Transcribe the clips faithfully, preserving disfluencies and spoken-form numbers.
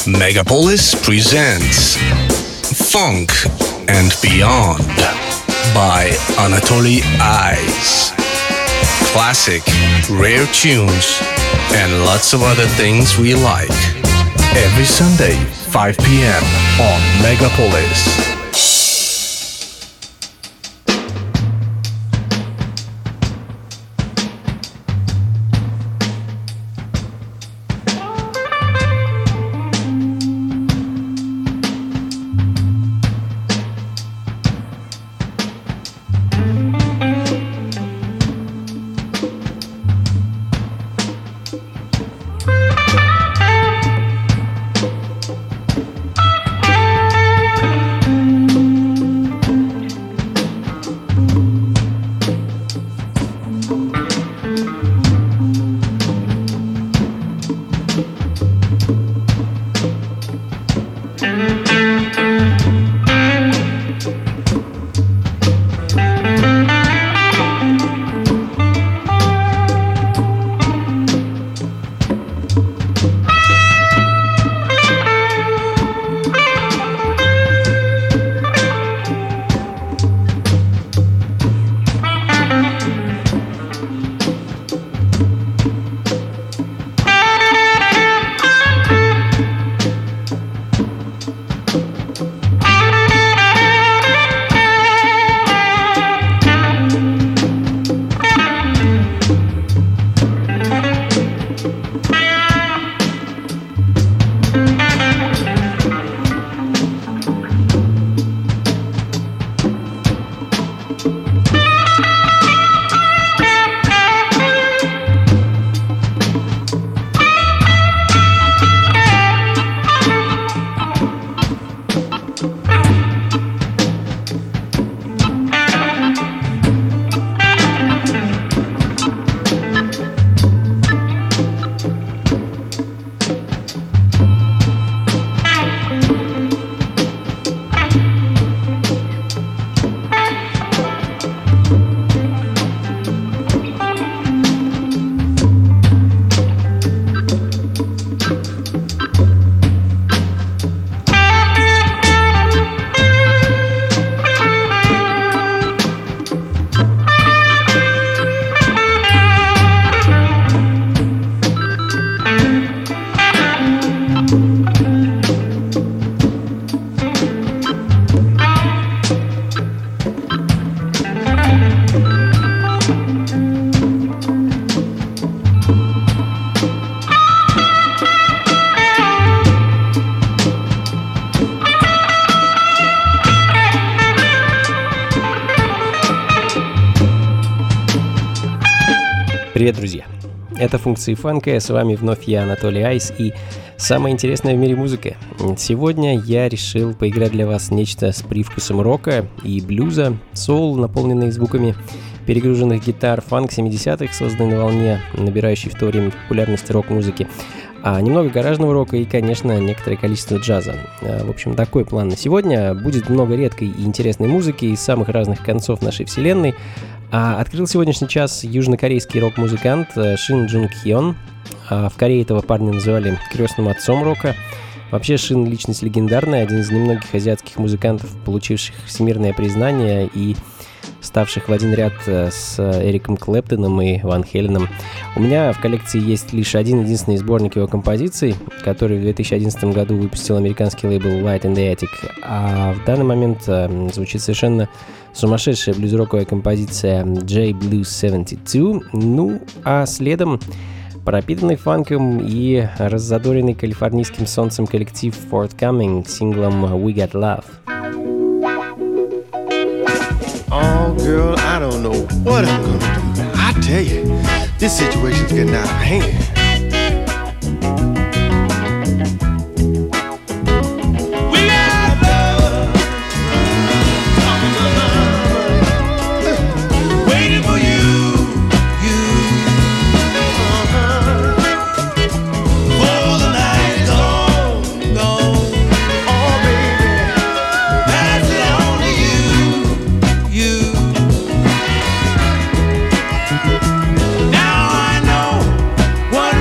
Megapolis presents Funk and Beyond by Anatoly Ice. Classic, rare tunes, and lots of other things we like. Every Sunday, five p.m. on Megapolis. Привет, друзья! Это функции фанка, с вами вновь я, Анатолий Айс, и самое интересное в мире музыка. Сегодня я решил поиграть для вас нечто с привкусом рока и блюза, соул, наполненный звуками перегруженных гитар, фанк семидесятых, созданный на волне, набирающий в то время популярности рок-музыки, а немного гаражного рока и, конечно, некоторое количество джаза. В общем, такой план на сегодня. Будет много редкой и интересной музыки из самых разных концов нашей вселенной. А открыл сегодняшний час южнокорейский рок-музыкант Шин Джун Хён. А в Корее этого парня называли крестным отцом рока. Вообще Шин — личность легендарная, один из немногих азиатских музыкантов, получивших всемирное признание и ставших в один ряд с Эриком Клэптоном и Ван Хеленом. У меня в коллекции есть лишь один единственный сборник его композиций, который в две тысячи одиннадцатом году выпустил американский лейбл Light in the Attic, а в данный момент э, звучит совершенно сумасшедшая блюз-роковая композиция J Blues семьдесят два, ну а следом пропитанный фанком и раззадоренный калифорнийским солнцем коллектив Forthcoming с синглом We Got Love. Oh, girl, I don't know what I'm gonna do. I tell you, this situation's getting out of hand. Now I know what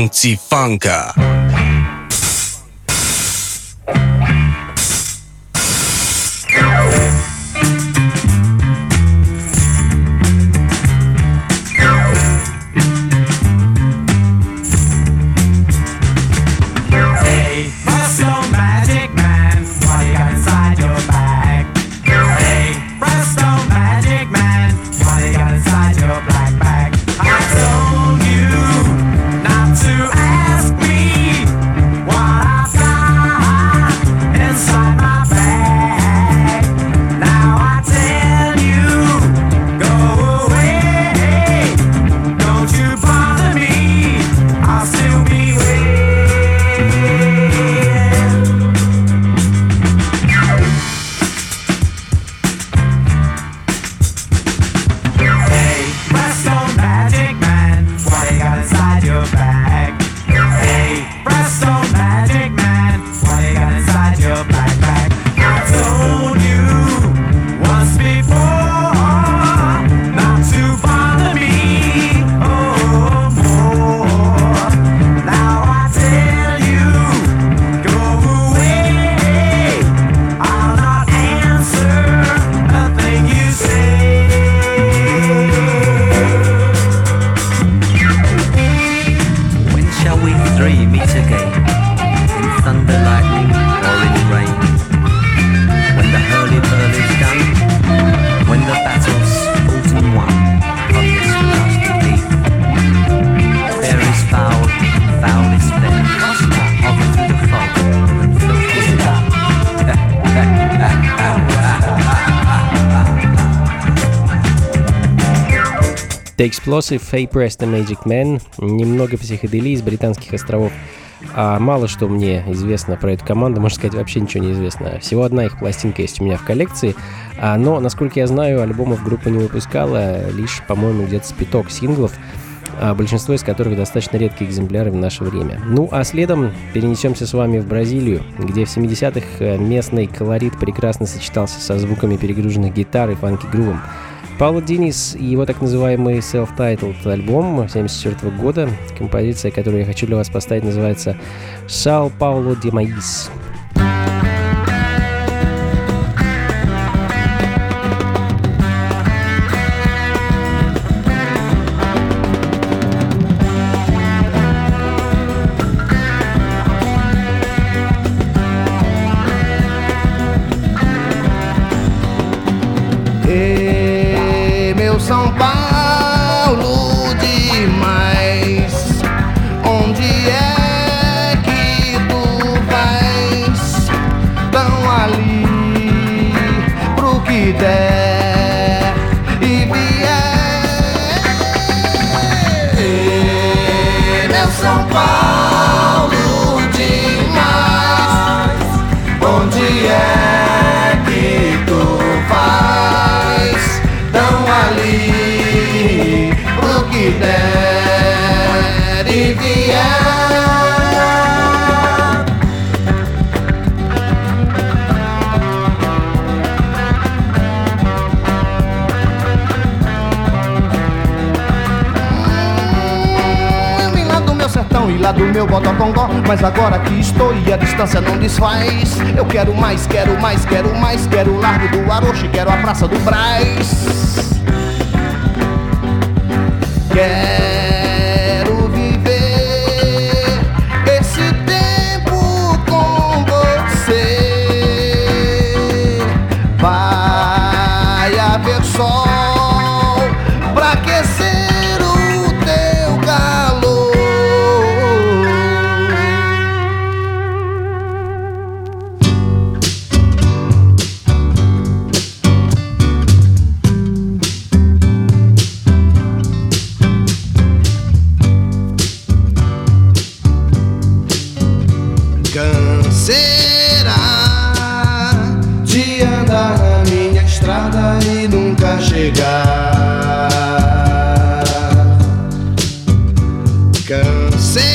Funky Funka. The Explosive, Hey Presto Magic Man, немного психоделии с британских островов. А мало что мне известно про эту команду, можно сказать, вообще ничего не известно. Всего одна их пластинка есть у меня в коллекции, а, но, насколько я знаю, альбомов группа не выпускала, лишь, по-моему, где-то с пяток синглов, а большинство из которых достаточно редкие экземпляры в наше время. Ну а следом перенесемся с вами в Бразилию, где в семидесятых местный колорит прекрасно сочетался со звуками перегруженных гитар и фанки-грувом. Paulo Diniz и его так называемый self-titled альбом семьдесят четвёртого года. Композиция, которую я хочу для вас поставить, называется «São Paulo de Maíz». São Paulo demais, onde é que tu vais? Tão ali pro que der e vier. Meu São Paulo demais, onde é que tu vais? Tão ali pro que der e vier. Eu vim lá do meu sertão e lá do meu Bodocongó, mas agora que estou e a distância não desfaz, eu quero mais, quero mais, quero mais, quero o Largo do Aroche, quero a Praça do Brás. Quero viver esse tempo com você. Vai haver sol pra aquecer o teu calor. Canseira de andar na minha estrada e nunca chegar. Canseira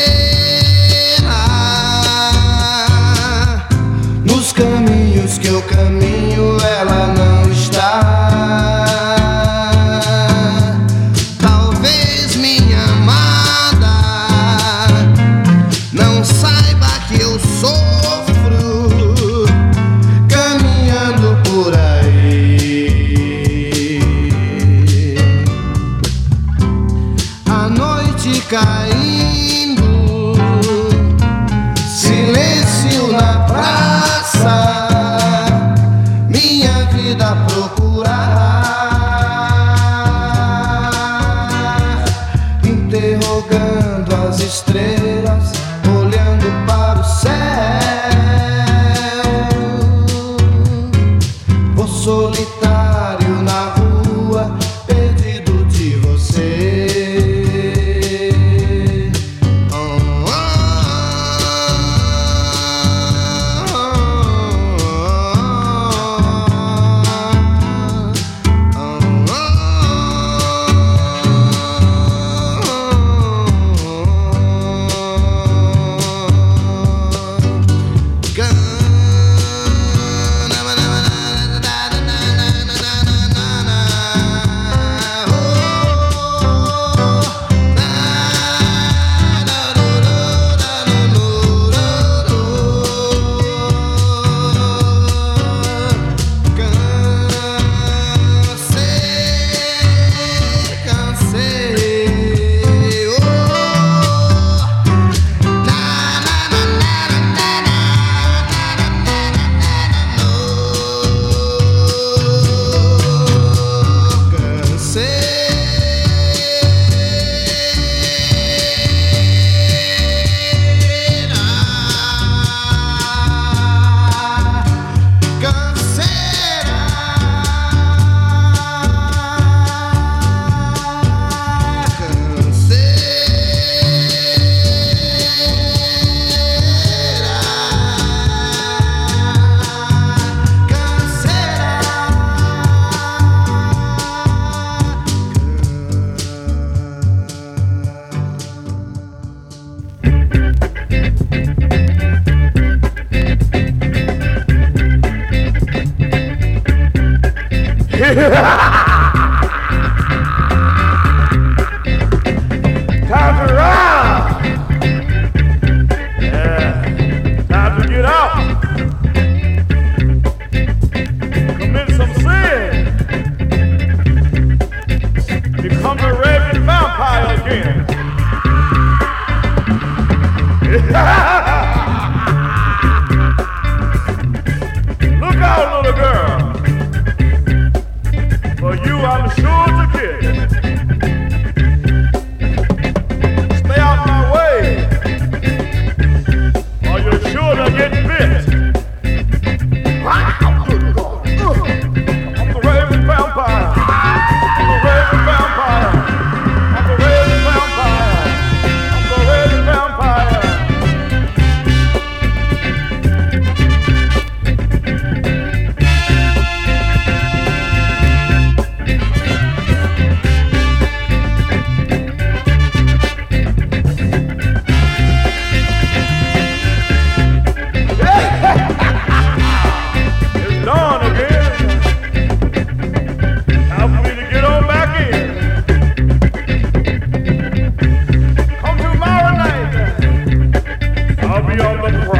nos caminhos que eu caminho, ela não está. Talvez minha amada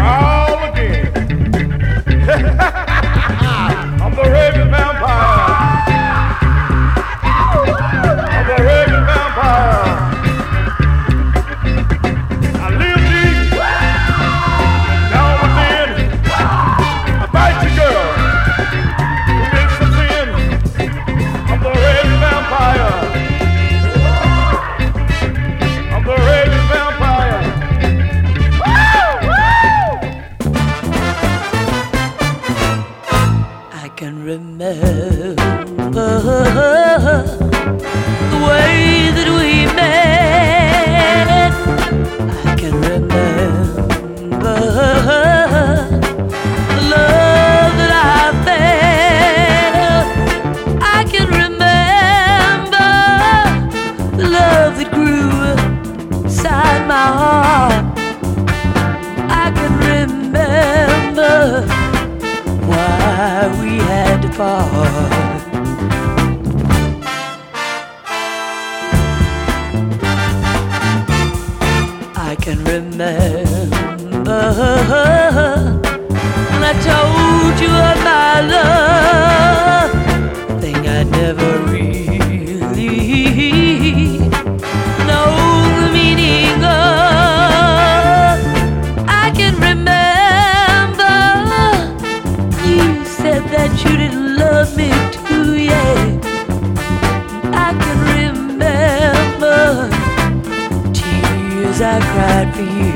all again. I'm the raving vampire. I'm the raving vampire. I live deep down within. I bite you, girl. Commit some sin. I'm the raving vampire. I'm the raving vampire. I can remember the way that we met. I can remember the love that I felt. I can remember the love that grew inside my heart. I can remember why we had to part. I can remember when I told you of my love, thing I never really know the meaning of. I can remember you said that you didn't love me too, yeah. I can remember tears I cried for you.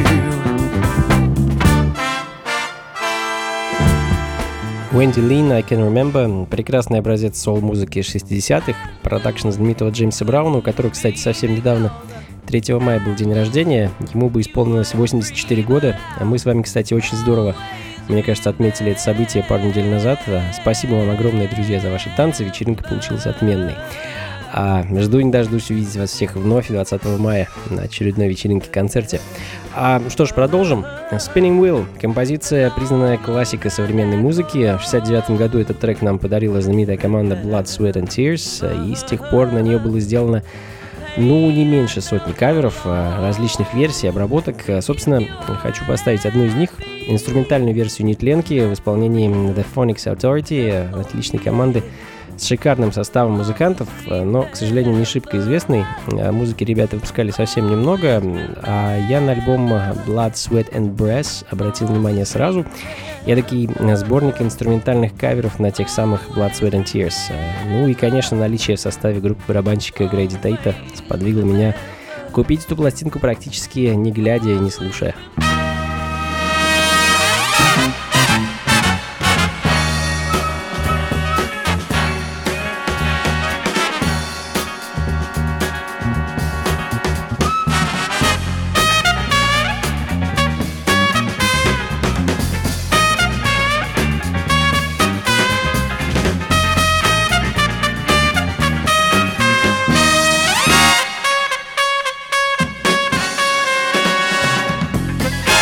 Wendy Lynn, I Can Remember, прекрасный образец соул-музыки шестидесятых, продакшн знаменитого Джеймса Брауна, у которого, кстати, совсем недавно, третьего мая, был день рождения, ему бы исполнилось восемьдесят четыре года, а мы с вами, кстати, очень здорово, мне кажется, отметили это событие пару недель назад. Спасибо вам огромное, друзья, за ваши танцы, вечеринка получилась отменной. А жду не дождусь увидеть вас всех вновь двадцатого мая на очередной вечеринке-концерте. А, что ж, продолжим. Spinning Wheel. Композиция, признанная классикой современной музыки. В шестьдесят девятом году этот трек нам подарила знаменитая команда Blood, Sweat and Tears. И с тех пор на нее было сделано, ну, не меньше сотни каверов, различных версий, обработок. Собственно, хочу поставить одну из них. Инструментальную версию нетленки в исполнении The Phonics Authority, отличной команды с шикарным составом музыкантов, но, к сожалению, не шибко известный. Музыки ребята выпускали совсем немного, а я на альбом Blood, Sweat and Brass обратил внимание сразу. Эдакий сборник инструментальных каверов на тех самых Blood, Sweat and Tears. Ну и, конечно, наличие в составе группы барабанщика Грейди Тейта сподвигло меня купить эту пластинку практически не глядя и не слушая. I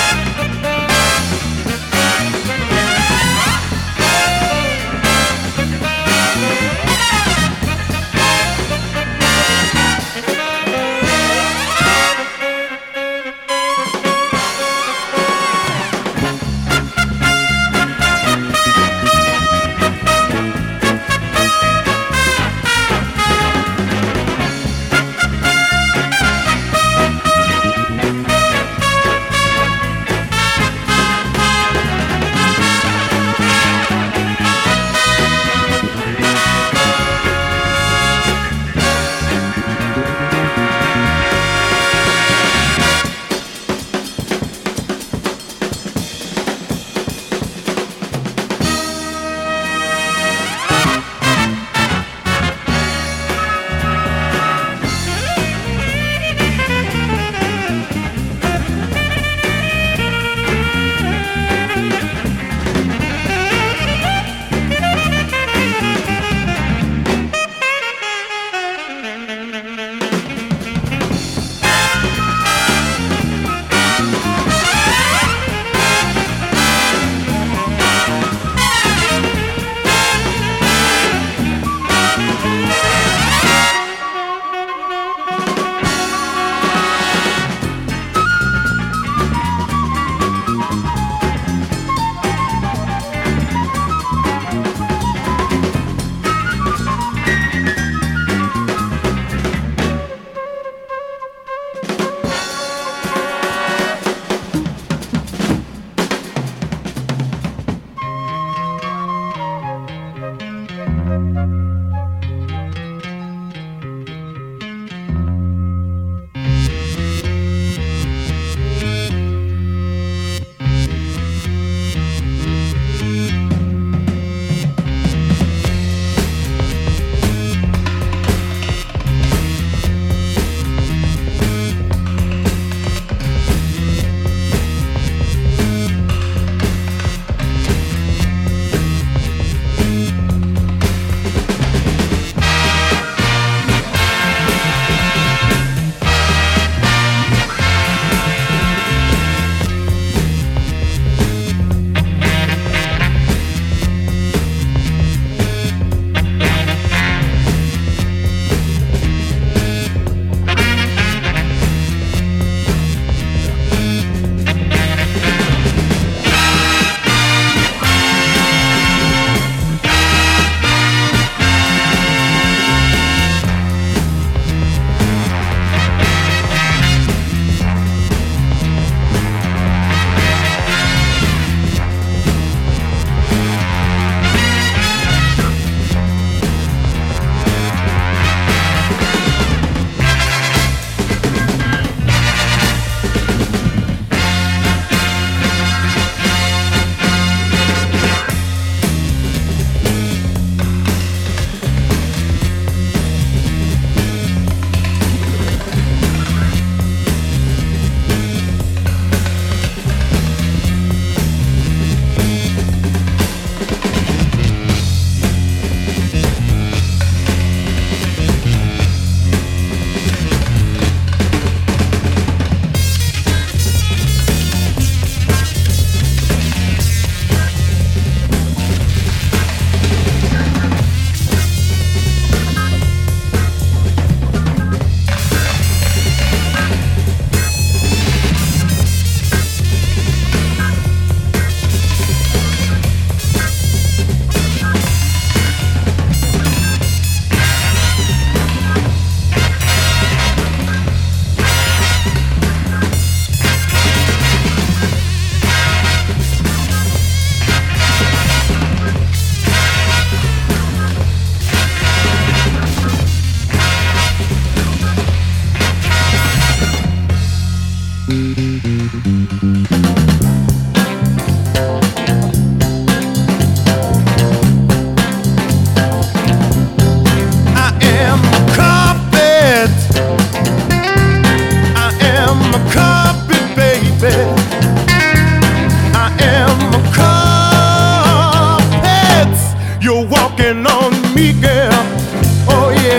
be, girl. Oh yeah.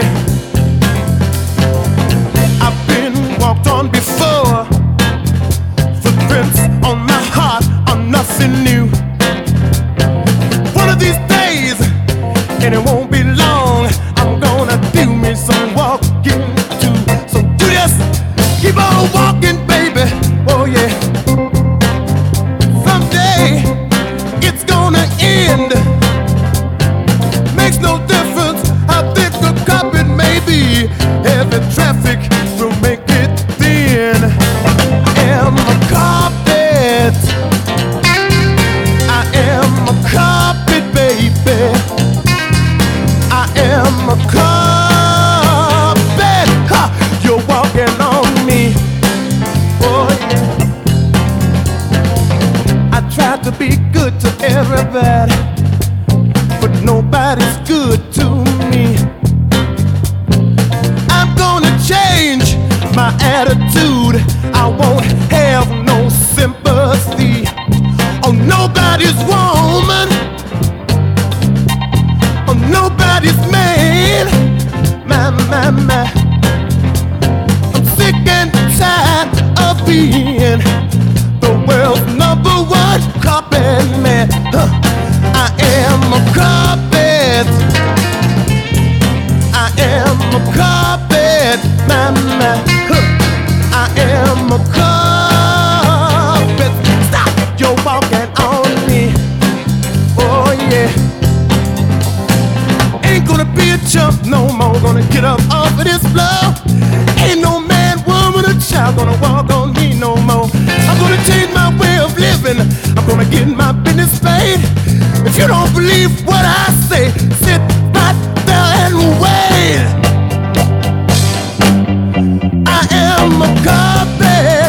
I've been walked on before. Footprints on my heart are nothing new. One of these days, and it won't be long, I'm gonna do me some walking too. So do this, keep on walking, baby. Oh yeah. Someday it's gonna end. Makes no difference how thick the carpet may be. Heavy traffic will make it thin. I am a carpet. I am a carpet, baby. I am a carpet. Ha! You're walking on me. Oh yeah. I try to be good to everybody, but nobody's good to me. I'm gonna change my attitude. I won't have no sympathy on nobody's woman, on nobody's man. My, my, my. I'm sick and tired of being the world's number one carpet man. Huh. I am a carpet. I am a carpet, my, my. Huh. I am a carpet. Stop! You're walking on me. Oh yeah. Ain't gonna be a chump no more. Gonna get up off of this floor. Ain't no man, woman, or child gonna walk on me no more. I'm gonna change my way of living. I'm gonna get my business paid. If you don't believe what I say, sit right there and wait. I am a carpet.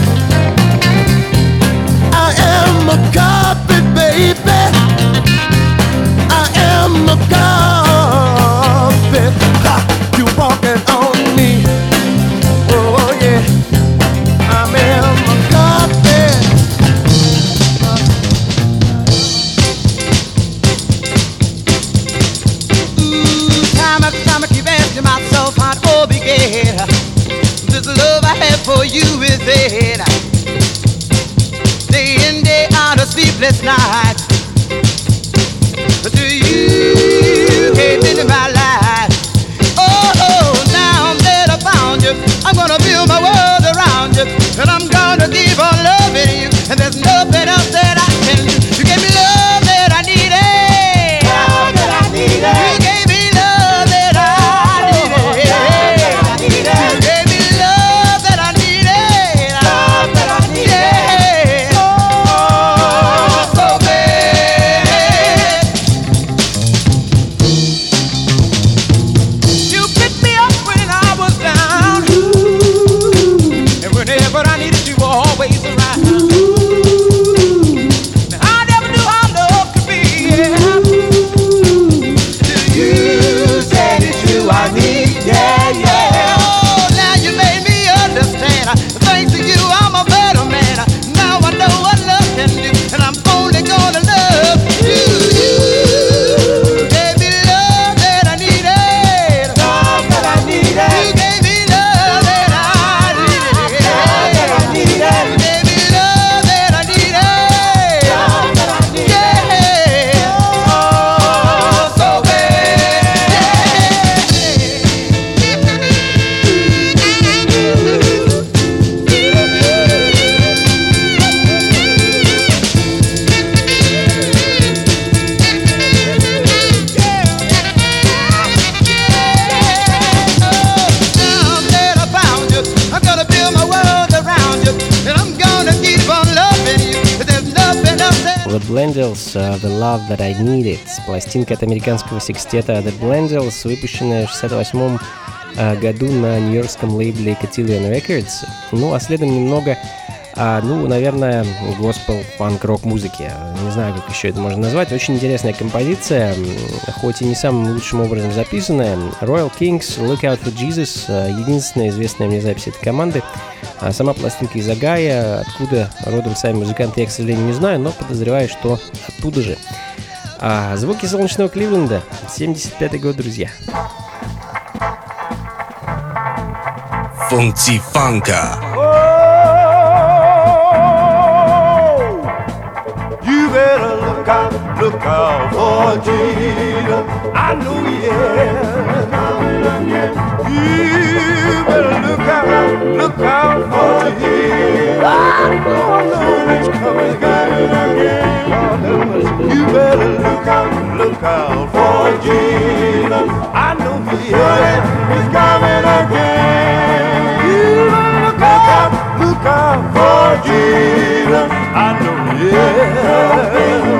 I am a carpet, baby. I am a carpet. Ha! You walking on me. Oh yeah. I am a carpet. Time after time I keep asking myself how it all began. This love I have for you is dead. Day in, day out, a sleepless night. But to you came into my life. Oh, oh, now that I found you, I'm gonna build my world around you, and I'm gonna keep on loving you, and there's nothing else that I can do. You gave me love that I needed. Love that I needed. You gave me love that I needed. Love that I needed. You gave me love that I needed. Love that I needed. Oh, so bad. You picked me up when I was down, and whenever I needed you, were always around. I never knew how love could be. Yeah. Till you said it's you I need. Yeah, yeah. Oh, now you made me understand. Thanks to you, I'm a better man. Now I know what love can do, and I'm only gonna love you. You gave me love that I needed. Love that I needed. You gave me love that I needed. Love that I needed. You gave me love that I needed. Love that I needed. Yeah. Oh, so bad. Now that I found you, I'm gonna build my world around you, and I'm gonna keep on loving you. There's nothing else that The Blendels, uh, The Love That I Needed. Пластинка от американского секстета The Blendels, выпущенная в шестьдесят восьмом э, году на нью-йоркском лейбле Cotillion Records. Ну, а следом немного, а, ну, наверное, госпел, фанк, рок-музыки. Не знаю, как еще это можно назвать. Очень интересная композиция, хоть и не самым лучшим образом записанная. Royal Kings, Look Out for Jesus, э, единственная известная мне запись этой команды. А сама пластинка из Огайо, откуда родом сами музыканты, я, к сожалению, не знаю, но подозреваю, что оттуда же. А звуки солнечного Кливленда, семьдесят пятый год, друзья. Funky Funka. You better look out, look out for Jesus. I know he is coming again. You better look out, look out for Jesus. I know, I know he's coming again. You better look out, look out for Jesus. I know he is, he's coming again. You better look out, look out for Jesus. I know he is.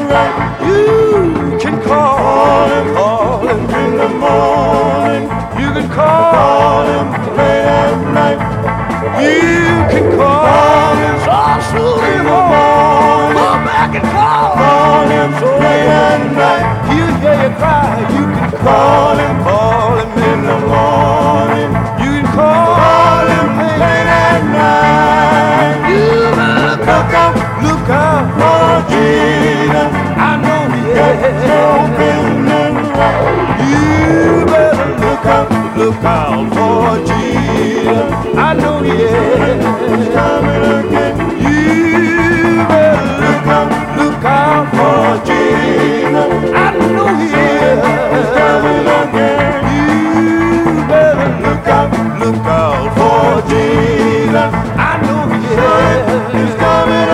You can call him, call him in the morning. You can call him late at night. You can call him so soon in the morning. Go back and call, call him so late at night. He'll hear you cry. You can call him, call him in the morning. You can call him late at night. You look out, look out for Jesus. I know he is open and right. You better look out, look out for Jesus. I know he is coming again. You better look out, look out for Jesus. I know he is coming again. You better look out, look out for Jesus. I know he is coming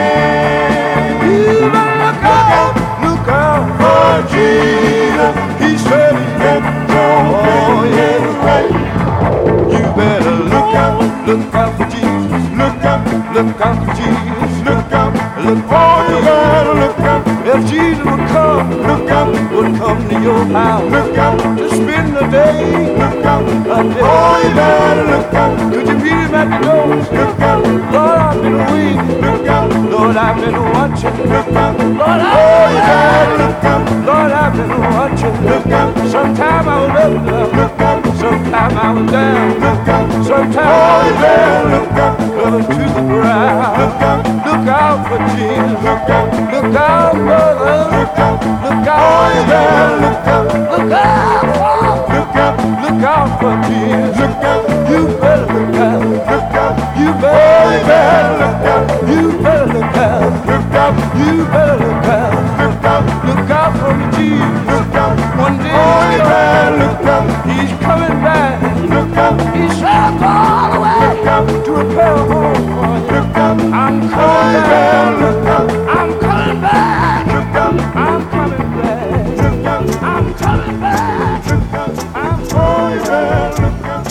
again. You better look out, look out for Jesus. He said he's getting strong. Oh, yeah, right. You better look out, look out for Jesus. Look out, look out for Jesus. Look out, look out. You better look out. If Jesus would come, look out, would come to your house. Look out to spend the day. Look out, a day. Oh, you better look out. Could you meet him at the door? Look out, Lord, I've been waiting. Look out, Lord, I've been watching. Look out, Lord, oh, you better look out. Lord, I've been watching. Look out, sometime I was up. Look out, sometime I was down. Look out, sometime oh, you better look out. Look to the ground. Look out, look out for Jesus. Look out, look out, brother. Look out, look out. Oh, you better look out. Look out, look out, look out for Jesus. Look out, you better look out. Look out, you better look out. You better look out. Look out, you better look out. Look out, look out for me, Jesus. Look out, one day oh, you better look out. He's coming back. Look out, he's traveled all the way. Look out to repair a home for you. Look out, I'm coming back. Look out, I'm coming back. Look out, I'm coming back. Look out, I'm coming back. Look out, I'm coming back. Look out,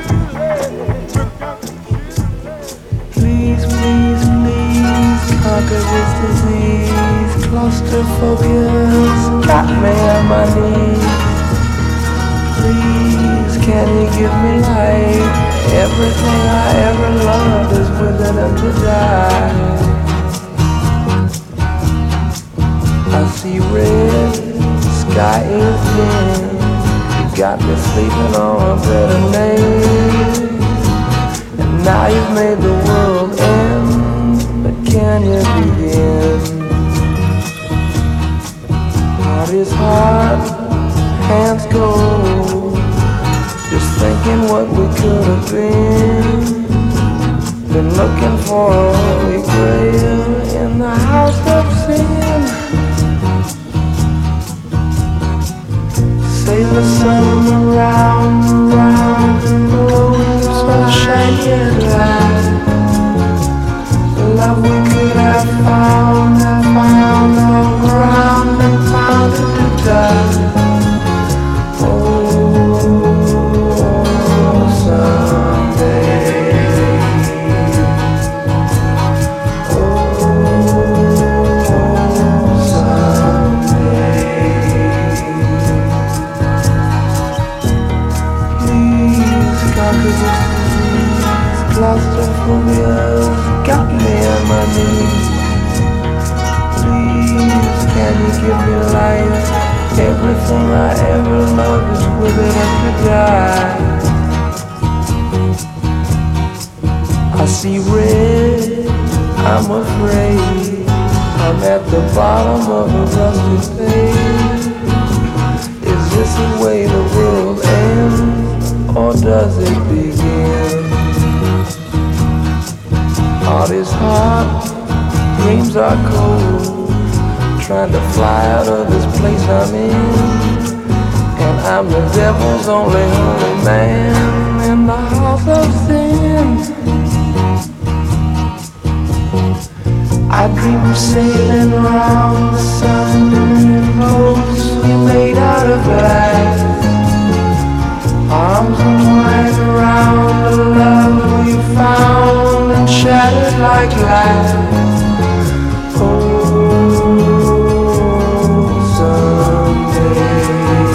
look out, please, please, please conquer this disease. Claustrophobia's got me on my knees. Please, can you give me life? Everything I ever loved is withering to die. I see red, sky is dim. You got me sleeping on a bed of nails. And now you've made the world end, but can you begin? Heart is hard, hands cold, just thinking what we could have been. Been looking for a holy grail in the house of sin. Say the sun around, around, blowing sunshine and light. The love we could have found, have found on ground and found it to die. Claustrophobia's got me on my knees. Please, can you give me life? Everything I ever loved is withered up to die. I see red, I'm afraid. I'm at the bottom of a rusted page. Is this the way the world ends, or does it begin? Heart is hot, dreams are cold, trying to fly out of this place I'm in. And I'm the devil's only holy man in the house of sin. I dream of sailing around the sun in boats we made out of glass, arms entwined around the love we found and shattered like glass. Oh, someday.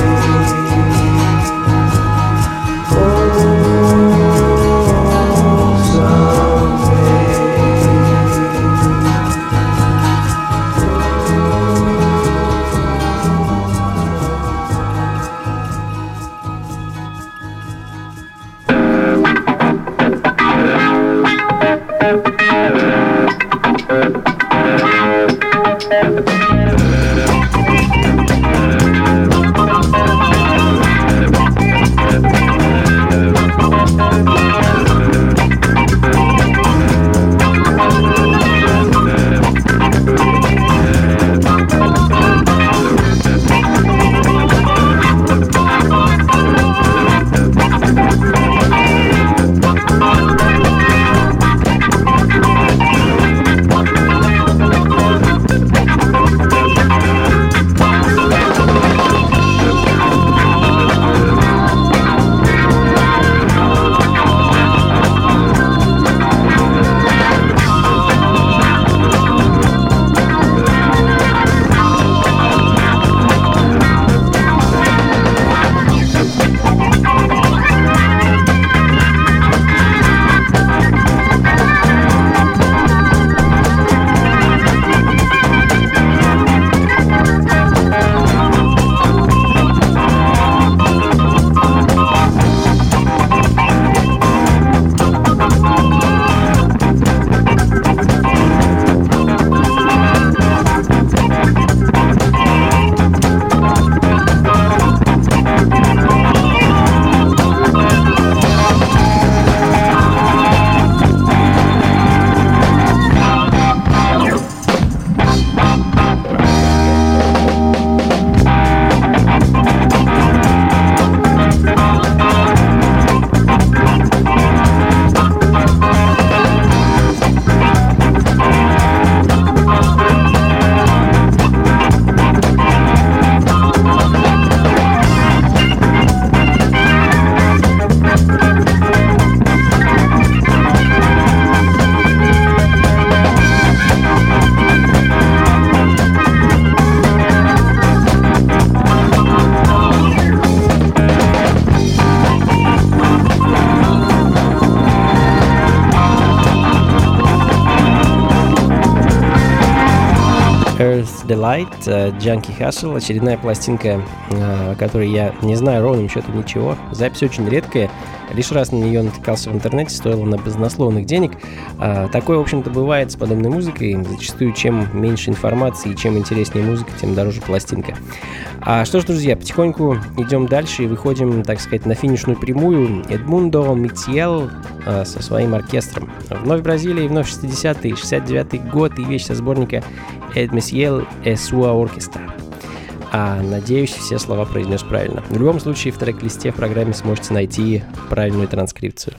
Delight, Junkie Hustle, очередная пластинка, о которой я не знаю ровным счетом ничего. Запись очень редкая, лишь раз на нее натыкался в интернете, стоила она безусловных денег. Такое, в общем-то, бывает с подобной музыкой. Зачастую, чем меньше информации и чем интереснее музыка, тем дороже пластинка. А что ж, друзья, потихоньку идем дальше и выходим, так сказать, на финишную прямую. Эдмундо Митьел э, со своим оркестром. Вновь Бразилия, вновь шестидесятые, шестьдесят девятый год и вещь со сборника «Эд Митьел e sua orquestra». А, надеюсь, все слова произнес правильно. В любом случае, в трек-листе в программе сможете найти правильную транскрипцию.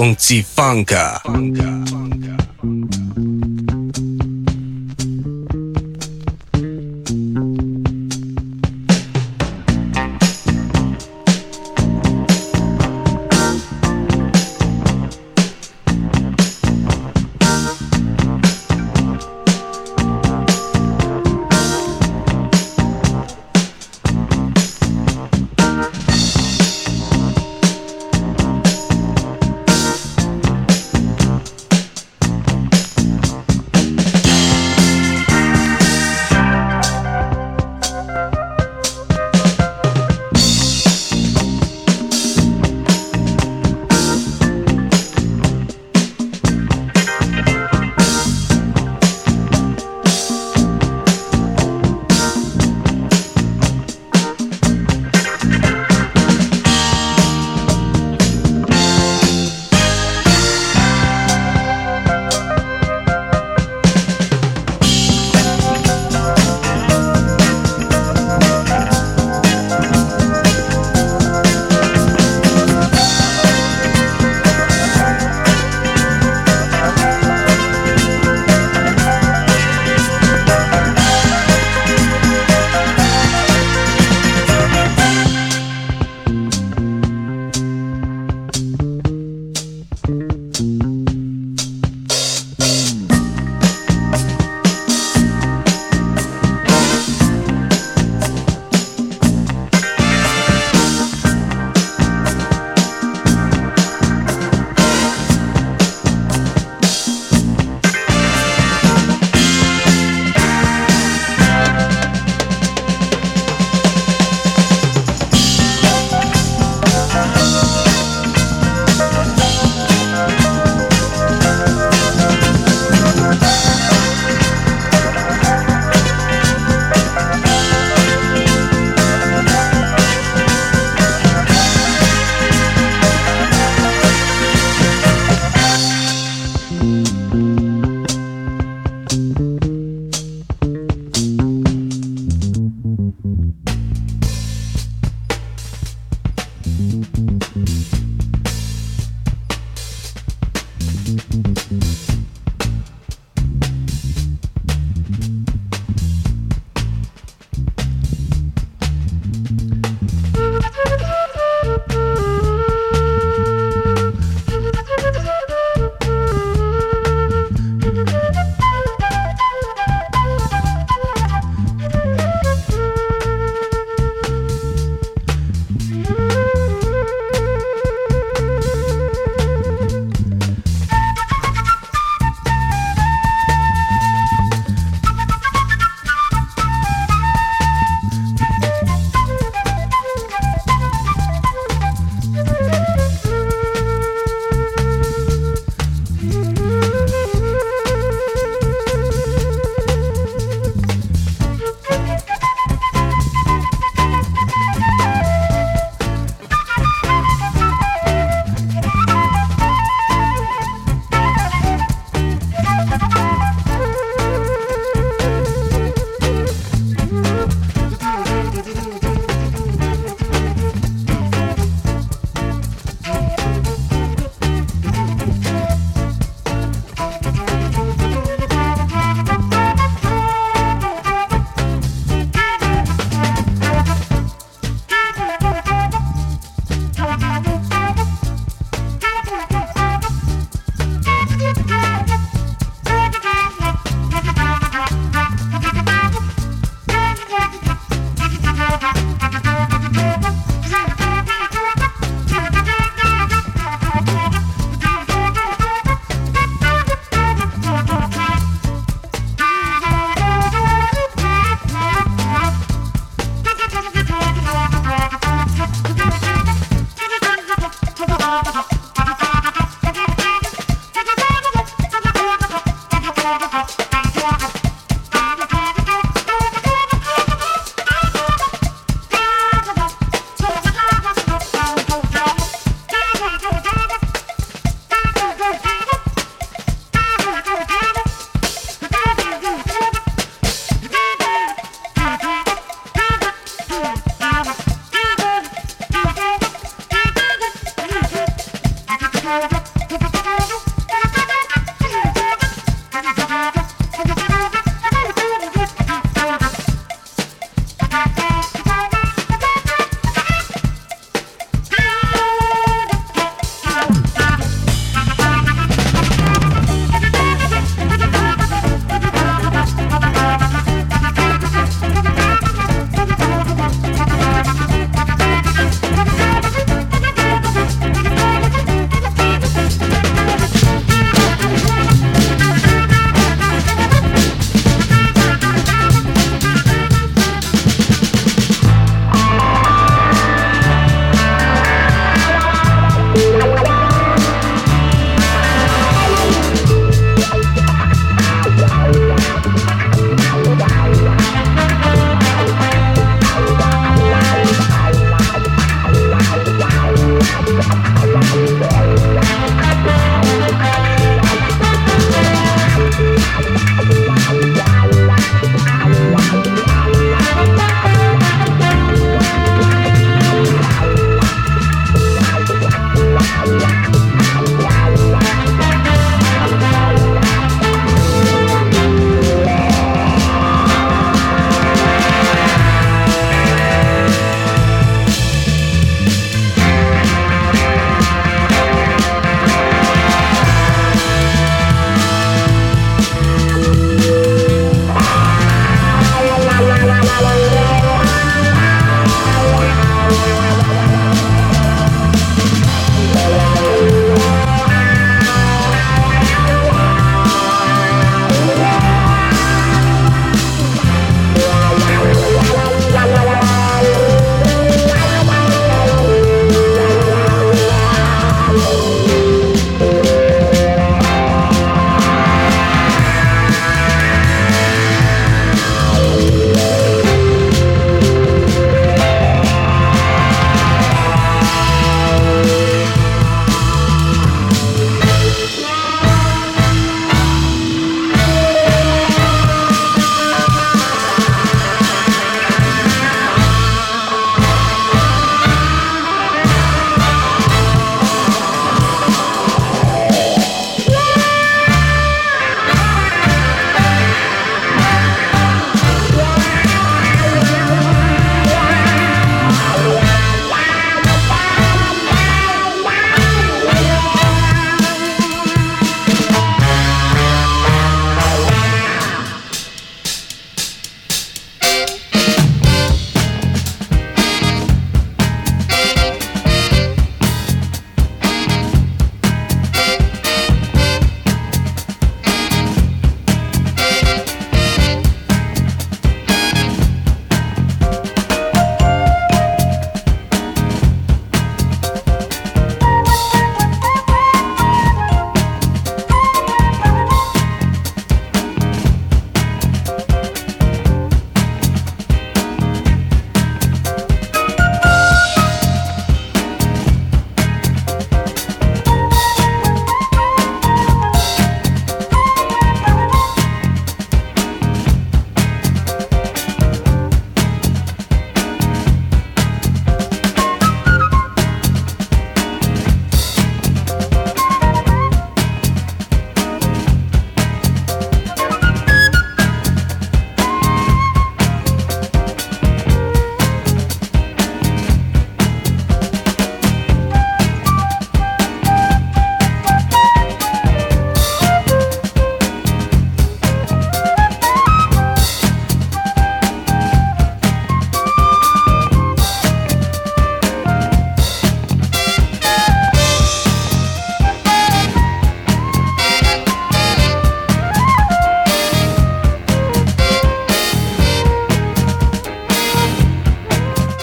Funky Funka.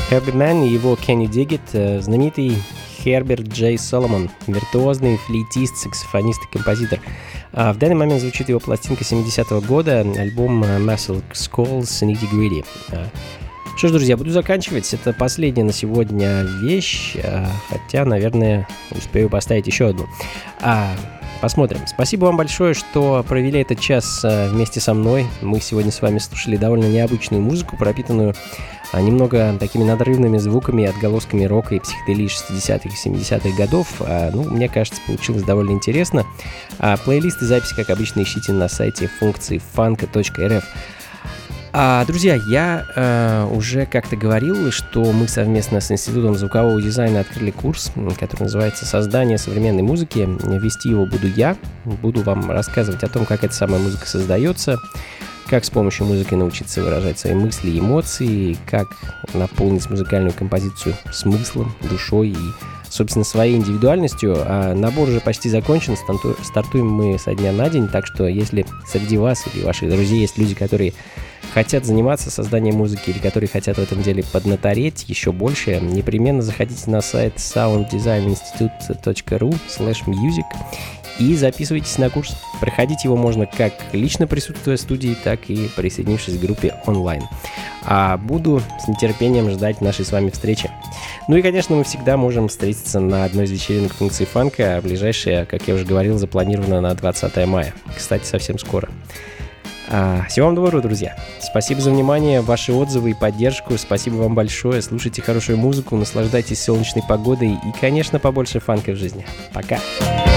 Herbie Mann и его Can You Dig It, знаменитый Херберт Джей Соломон, виртуозный флейтист, саксофонист и композитор. А в данный момент звучит его пластинка семидесятого года, альбом Muscle Skulls Nitty Gritty. Что ж, друзья, буду заканчивать. Это последняя на сегодня вещь, хотя, наверное, успею поставить еще одну. А, посмотрим. Спасибо вам большое, что провели этот час вместе со мной. Мы сегодня с вами слушали довольно необычную музыку, пропитанную немного такими надрывными звуками, отголосками рока и психоделии шестидесятых и семидесятых годов. Ну, мне кажется, получилось довольно интересно. А плейлист и записи, как обычно, ищите на сайте функции фанка точка эр эф. А, друзья, я э, уже как-то говорил, что мы совместно с Институтом звукового дизайна открыли курс, который называется «Создание современной музыки». Вести его буду я. Буду вам рассказывать о том, как эта самая музыка создается, как с помощью музыки научиться выражать свои мысли и эмоции, как наполнить музыкальную композицию смыслом, душой и, собственно, своей индивидуальностью. А набор уже почти закончен, стартуем мы со дня на день, так что если среди вас или ваших друзей есть люди, которые хотят заниматься созданием музыки или которые хотят в этом деле поднатореть еще больше, непременно заходите на сайт саунд дизайн институт точка ру слэш мьюзик и записывайтесь на курс. Проходить его можно как лично присутствуя в студии, так и присоединившись к группе онлайн. А буду с нетерпением ждать нашей с вами встречи. Ну и, конечно, мы всегда можем встретиться на одной из вечеринок функции фанка, а ближайшая, как я уже говорил, запланирована на двадцатое мая. Кстати, совсем скоро. А, всего вам доброго, друзья. Спасибо за внимание, ваши отзывы и поддержку. Спасибо вам большое. Слушайте хорошую музыку, наслаждайтесь солнечной погодой и, конечно, побольше фанка в жизни. Пока.